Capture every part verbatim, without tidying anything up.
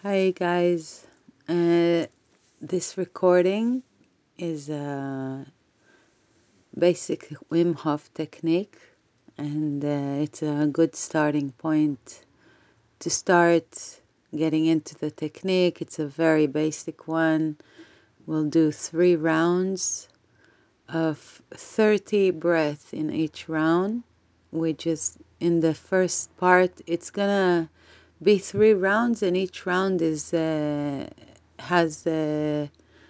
Hi guys, uh, this recording is a basic Wim Hof technique, and uh, it's a good starting point to start getting into the technique. It's a very basic one. We'll do three rounds of thirty breaths in each round, which is in the first part. It's gonna be three rounds, and each round is uh, has uh,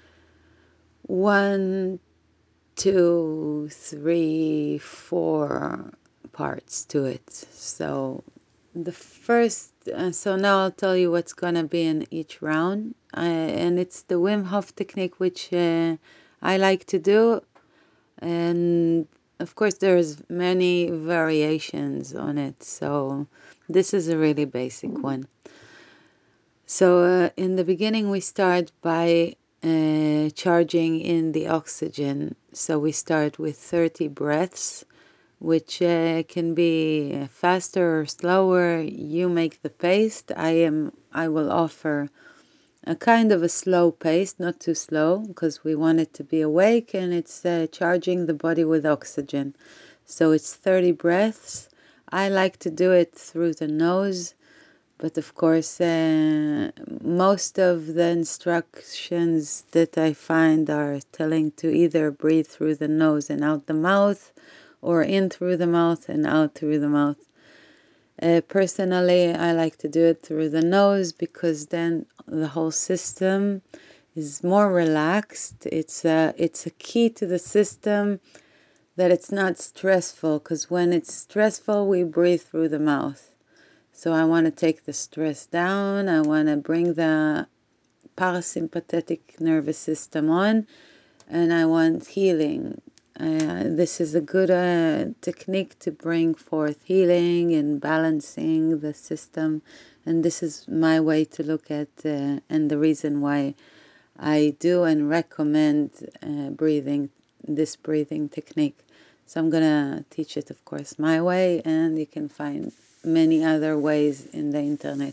one, two, three, four parts to it. So the first, uh, so now I'll tell you what's gonna be in each round, uh, and it's the Wim Hof technique, which uh, I like to do, and of course there's many variations on it. So this is a really basic one. So uh, in the beginning, we start by uh, charging in the oxygen. So we start with thirty breaths, which uh, can be faster or slower. You make the pace. I am. I will offer a kind of a slow pace, not too slow, because we want it to be awake, and it's uh, charging the body with oxygen. So it's thirty breaths. I like to do it through the nose. But of course, uh, most of the instructions that I find are telling to either breathe through the nose and out the mouth, or in through the mouth and out through the mouth. Uh, personally, I like to do it through the nose because then the whole system is more relaxed. It's a, it's a key to the system that it's not stressful, because when it's stressful, we breathe through the mouth. So I want to take the stress down. I want to bring the parasympathetic nervous system on, and I want healing. Uh, this is a good uh, technique to bring forth healing and balancing the system. And this is my way to look at, uh, and the reason why I do and recommend uh, breathing, this breathing technique. So I'm going to teach it, of course, my way, and you can find many other ways in the internet.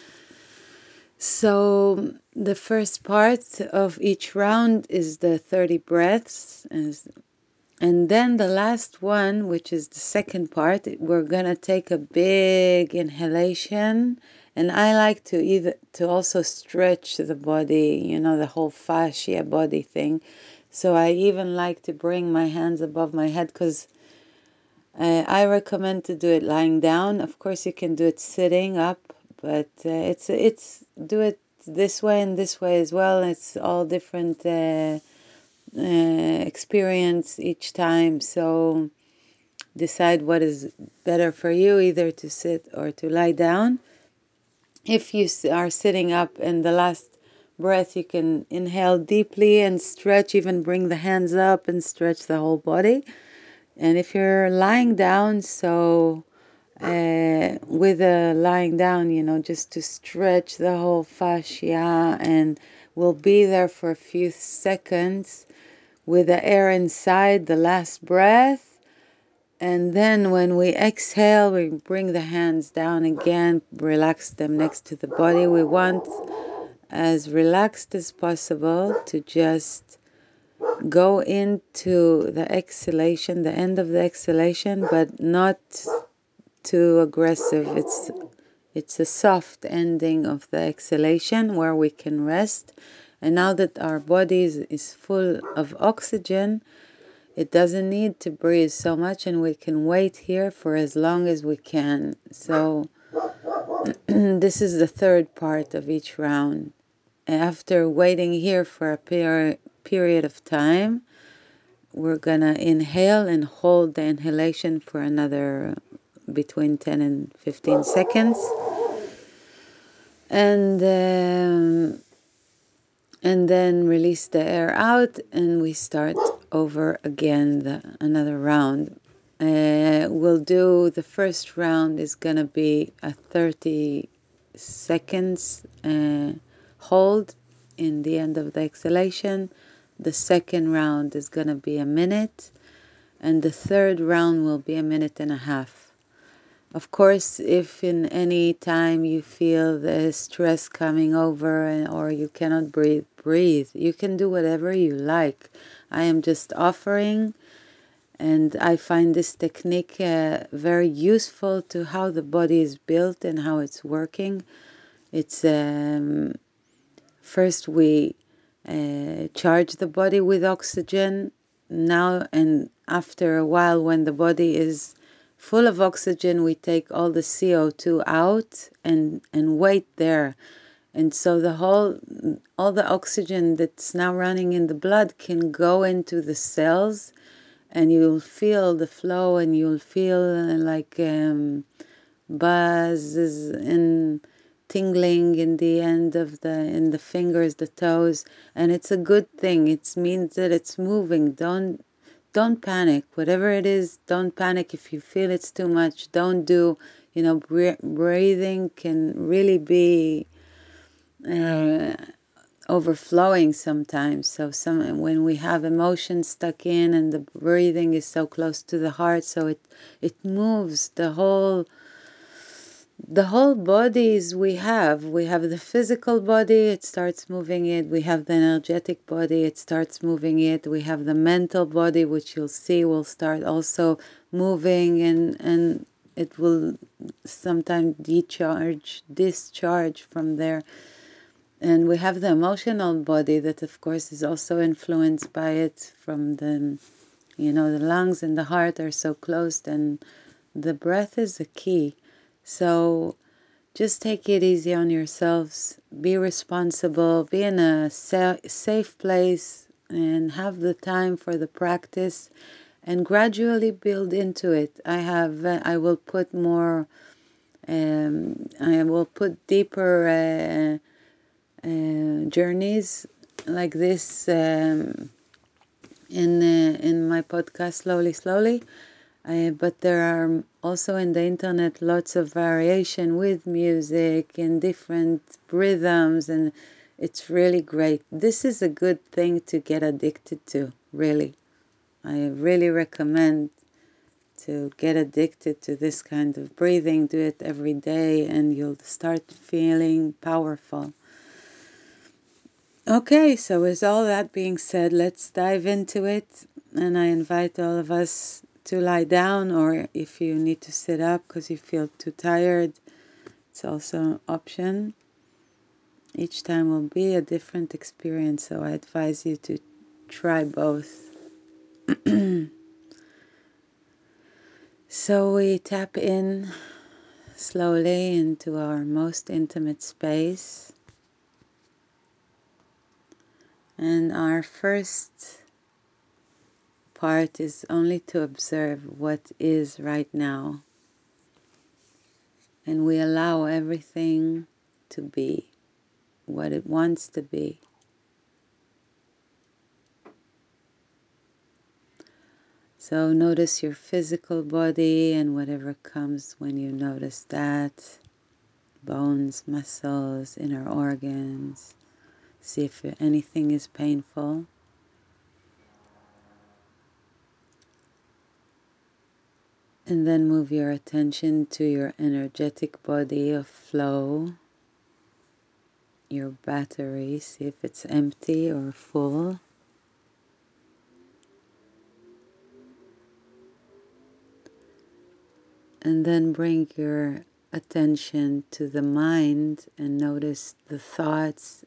So the first part of each round is the thirty breaths, and then the last one, which is the second part, we're going to take a big inhalation. And I like to either to also stretch the body, you know, the whole fascia body thing. So I even like to bring my hands above my head, because Uh, I recommend to do it lying down. Of course, you can do it sitting up, but uh, it's it's do it this way and this way as well. It's all different uh, uh, experience each time. So decide what is better for you, either to sit or to lie down. If you are sitting up, and the last breath, you can inhale deeply and stretch, even bring the hands up and stretch the whole body. And if you're lying down, so uh, with a lying down, you know, just to stretch the whole fascia, and we'll be there for a few seconds with the air inside, the last breath. And then when we exhale, we bring the hands down again, relax them next to the body. We want as relaxed as possible to just go into the exhalation, the end of the exhalation, but not too aggressive. It's it's a soft ending of the exhalation where we can rest. And now that our body is, is full of oxygen, it doesn't need to breathe so much, and we can wait here for as long as we can. So this is the third part of each round. After waiting here for a per- period of time, we're gonna inhale and hold the inhalation for another between ten and fifteen seconds, and um, and then release the air out, and we start over again the, another round. Uh, we'll do the first round is gonna be a thirty seconds uh, hold in the end of the exhalation. The second round is gonna be a minute, and the third round will be a minute and a half. Of course, if in any time you feel the stress coming over and, or you cannot breathe, breathe. You can do whatever you like. I am just offering, and I find this technique uh, very useful to how the body is built and how it's working. It's um, first we uh, charge the body with oxygen now, and after a while, when the body is full of oxygen, we take all the C O two out and and wait there. And so the whole all the oxygen that's now running in the blood can go into the cells, and you'll feel the flow, and you'll feel uh, like um, buzzes and tingling in the end of the in the fingers, the toes, and it's a good thing. It means that it's moving. Don't don't panic. Whatever it is, don't panic. If you feel it's too much, don't do. You know, breathing can really be uh, overflowing sometimes. So some when we have emotions stuck in, and the breathing is so close to the heart, so it it moves the whole the whole bodies we have. We have the physical body, it starts moving it. We have the energetic body, it starts moving it. We have the mental body, which you'll see will start also moving, and and it will sometimes decharge, discharge from there. And we have the emotional body that, of course, is also influenced by it from the, you know, the lungs and the heart are so close, and the breath is the key. So just take it easy on yourselves. Be responsible. Be in a sa- safe place and have the time for the practice, and gradually build into it. I have, uh, I will put more, um, I will put deeper uh, uh, journeys like this um, in uh, in my podcast, Slowly Slowly. Uh, but there are also in the internet lots of variation with music and different rhythms, and it's really great. This is a good thing to get addicted to, really. I really recommend to get addicted to this kind of breathing. Do it every day and you'll start feeling powerful. Okay, so with all that being said, let's dive into it. And I invite all of us to lie down, or if you need to sit up because you feel too tired, it's also an option. Each time will be a different experience, so I advise you to try both. So we tap in slowly into our most intimate space. And our first part is only to observe what is right now. And we allow everything to be what it wants to be. So notice your physical body and whatever comes when you notice that. Bones, muscles, inner organs. See if anything is painful. And then move your attention to your energetic body of flow. Your battery, see if it's empty or full. And then bring your attention to the mind and notice the thoughts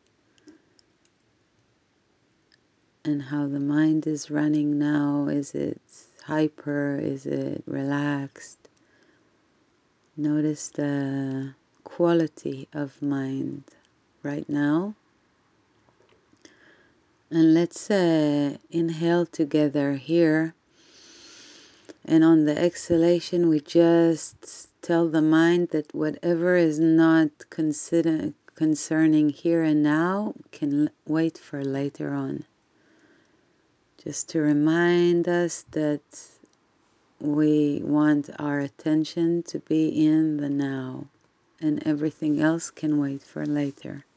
and how the mind is running now. Is it hyper? Is it relaxed? Notice the quality of mind right now. And let's uh, inhale together here. And on the exhalation, we just tell the mind that whatever is not consider, concerning here and now can wait for later on. Just to remind us that we want our attention to be in the now, and everything else can wait for later.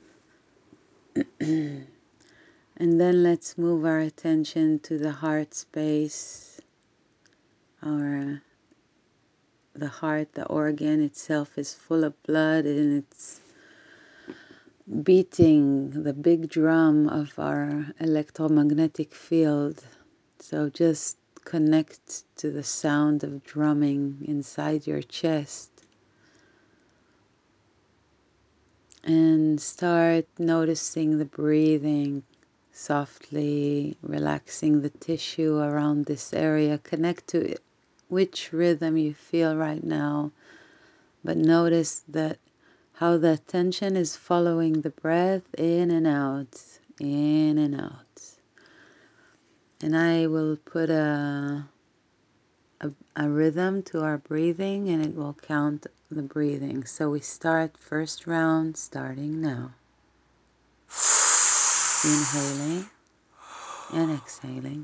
And then let's move our attention to the heart space, our the heart, the organ itself is full of blood, and it's beating the big drum of our electromagnetic field. So just connect to the sound of drumming inside your chest and start noticing the breathing softly, relaxing the tissue around this area. Connect to which rhythm you feel right now, but notice that how the attention is following the breath in and out, in and out. And I will put a, a, a rhythm to our breathing, and it will count the breathing. So we start first round, starting now. Inhaling and exhaling.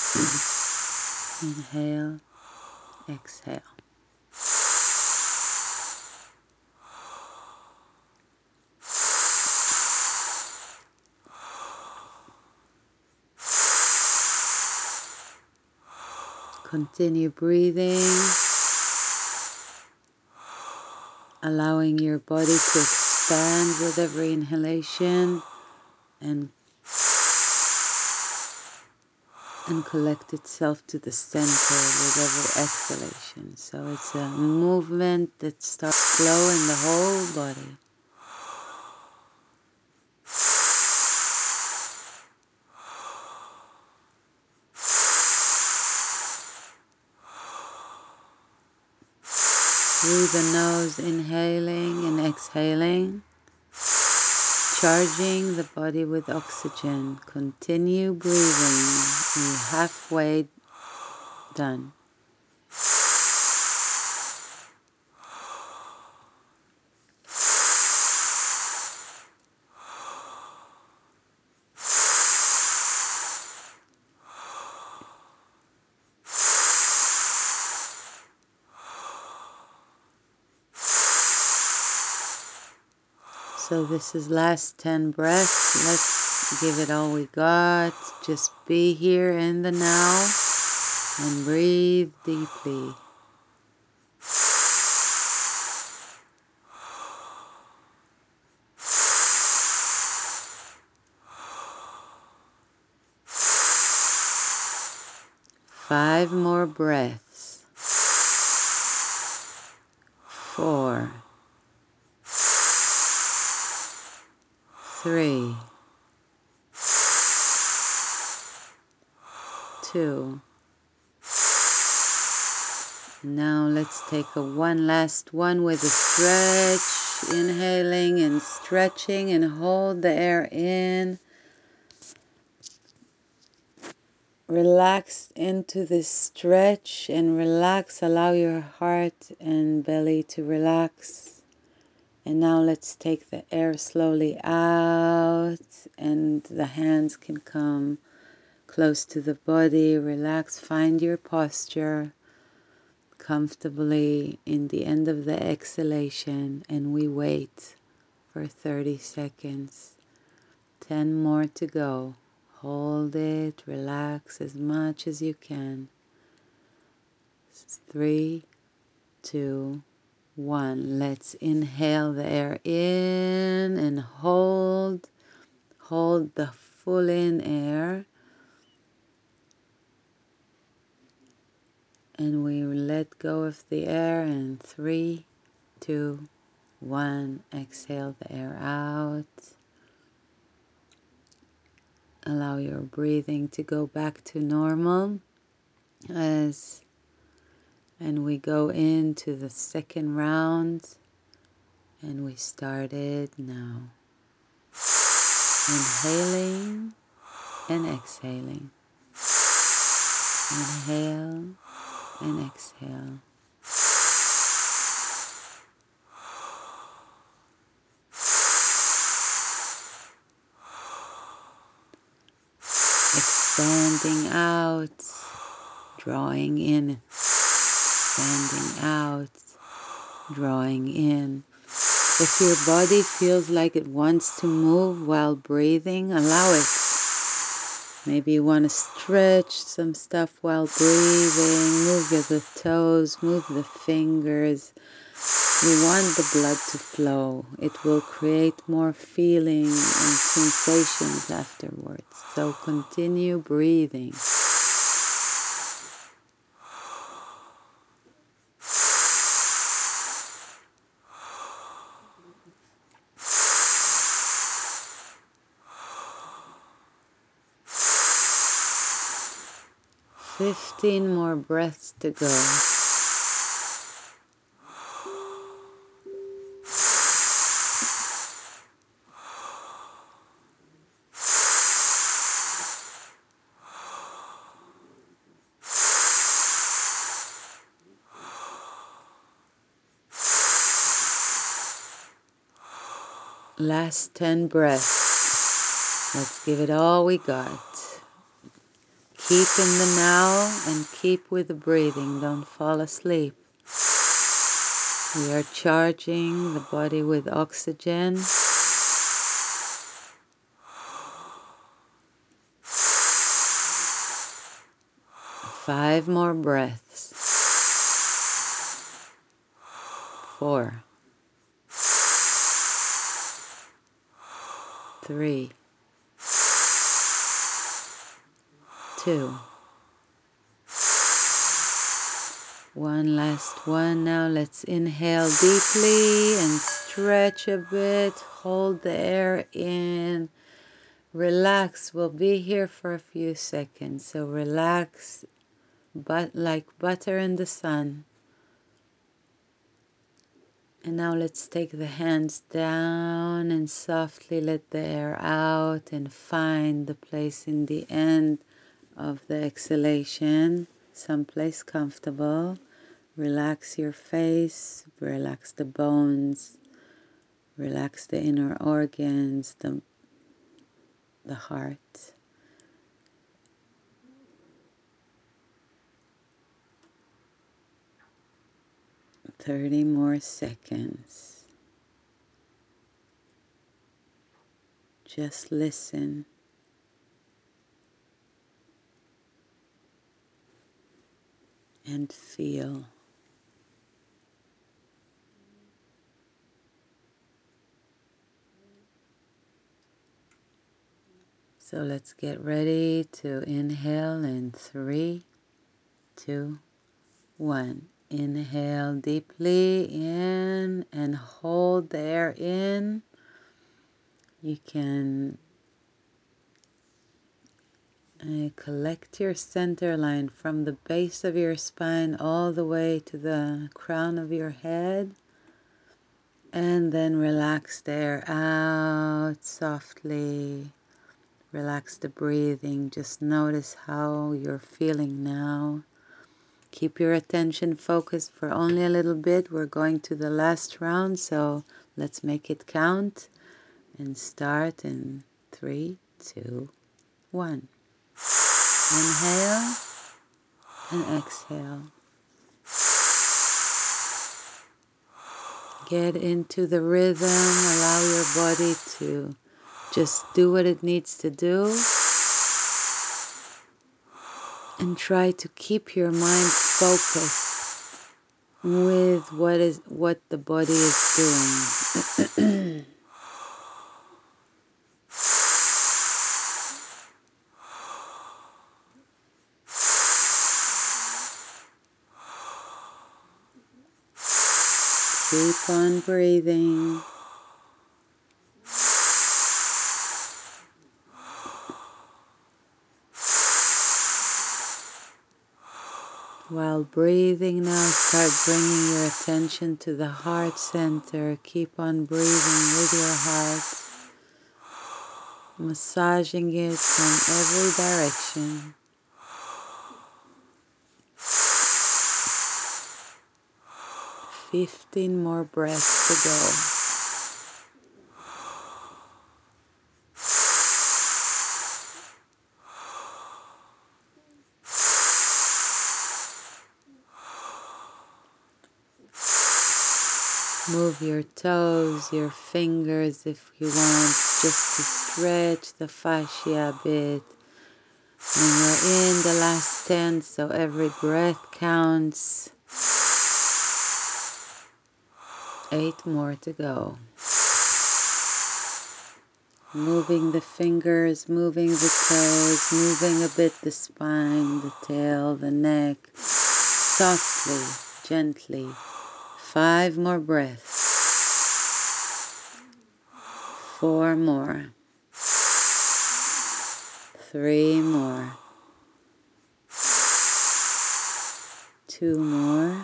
Inhale, exhale. Continue breathing, allowing your body to expand with every inhalation and and collect itself to the center with every exhalation. So it's a movement that starts slow in the whole body. Through the nose, inhaling and exhaling, charging the body with oxygen. Continue breathing. You're halfway done. So this is last ten breaths. Let's give it all we got. Just be here in the now and breathe deeply. Five more breaths. Four. Three. Two. Now let's take a one last one with a stretch. Inhaling and stretching, and hold the air in. Relax into this stretch and relax. Allow your heart and belly to relax. And now let's take the air slowly out, and the hands can come close to the body. Relax. Find your posture comfortably in the end of the exhalation, and we wait for thirty seconds. ten more to go. Hold it, relax as much as you can. Three, two, one. Let's inhale the air in and hold. Hold the full in air. And we let go of the air, and three, two, one. Exhale the air out. Allow your breathing to go back to normal as and we go into the second round, and we started now. Inhaling and exhaling. Inhale and exhale. Expanding out, drawing in, expanding out, drawing in. If your body feels like it wants to move while breathing, allow it. Maybe you want to stretch some stuff while breathing. Move the toes, move the fingers. We want the blood to flow. It will create more feeling and sensations afterwards. So continue breathing. Fifteen more breaths to go. Last ten breaths. Let's give it all we got. Keep in the now and keep with the breathing. Don't fall asleep. We are charging the body with oxygen. Five more breaths. Four. Three. Two. One last one. Now let's inhale deeply and stretch a bit. Hold the air in. Relax. We'll be here for a few seconds. So relax, but like butter in the sun. And now let's take the hands down and softly let the air out and find the place in the end of the exhalation, someplace comfortable. Relax your face, relax the bones, relax the inner organs, the, the heart. thirty more seconds. Just listen. And feel. So let's get ready to inhale in three, two, one. Inhale deeply in and hold the air in. You can uh, collect your center line from the base of your spine all the way to the crown of your head. And then relax the air out softly. Relax the breathing. Just notice how you're feeling now. Keep your attention focused for only a little bit. We're going to the last round, so let's make it count and start in three, two, one. Inhale and exhale. Get into the rhythm. Allow your body to just do what it needs to do. And try to keep your mind focused with what is what the body is doing. Keep on breathing. While breathing now, start bringing your attention to the heart center. Keep on breathing with your heart, massaging it from every direction. Fifteen more breaths to go. Move your toes, your fingers if you want, just to stretch the fascia a bit. And we're in the last ten, so every breath counts. Eight more to go. Moving the fingers, moving the toes, moving a bit the spine, the tail, the neck. Softly, gently. Five more breaths. Four more. Three more. Two more.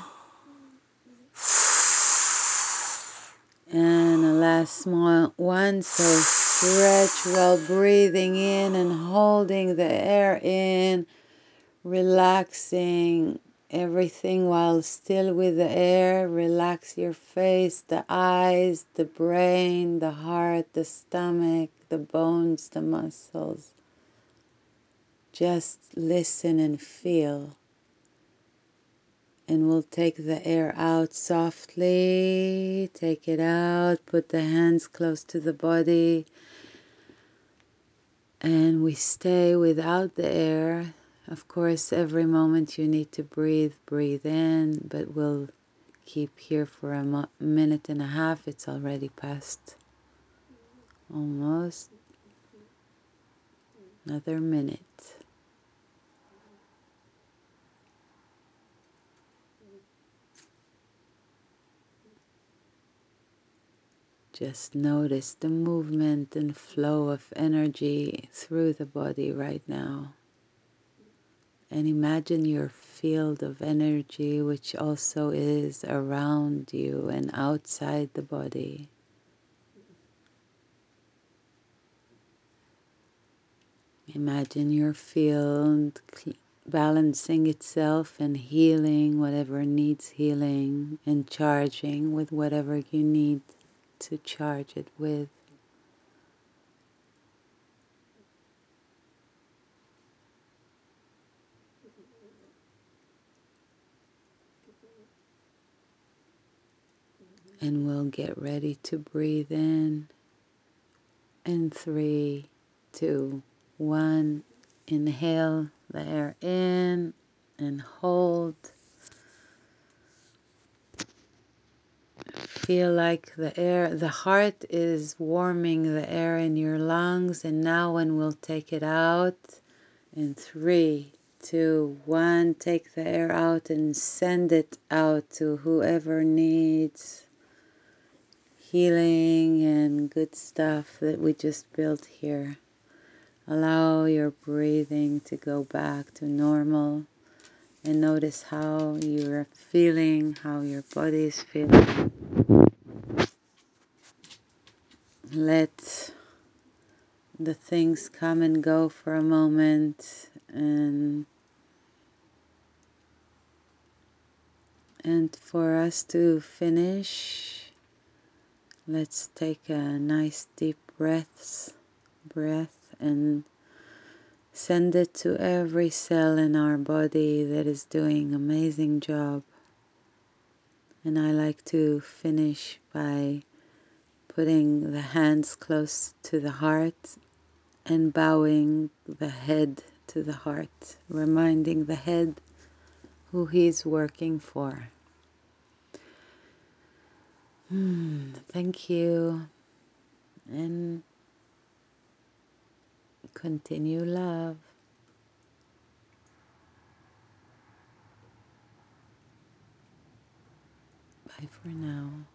And a last small one. So stretch while breathing in and holding the air in. Relaxing everything while still with the air. Relax your face, the eyes, the brain, the heart, the stomach, the bones, the muscles. Just listen and feel. And we'll take the air out softly. Take it out. Put the hands close to the body. And we stay without the air. Of course, every moment you need to breathe, breathe in. But we'll keep here for a mo- minute and a half. It's already past almost another minute. Just notice the movement and flow of energy through the body right now. And imagine your field of energy, which also is around you and outside the body. Imagine your field balancing itself and healing whatever needs healing and charging with whatever you need to charge it with. And we'll get ready to breathe in. In three, two, one. Inhale the air in and hold. Feel like the air, the heart is warming the air in your lungs. And now when we'll take it out, in three, two, one, take the air out and send it out to whoever needs healing and good stuff that we just built here. Allow your breathing to go back to normal and notice how you're feeling, how your body is feeling. Let the things come and go for a moment, and and for us to finish, let's take a nice deep breaths, breath and send it to every cell in our body that is doing an amazing job. And I like to finish by putting the hands close to the heart and bowing the head to the heart, reminding the head who he's working for. Hmm, thank you, and continue love. Bye for now.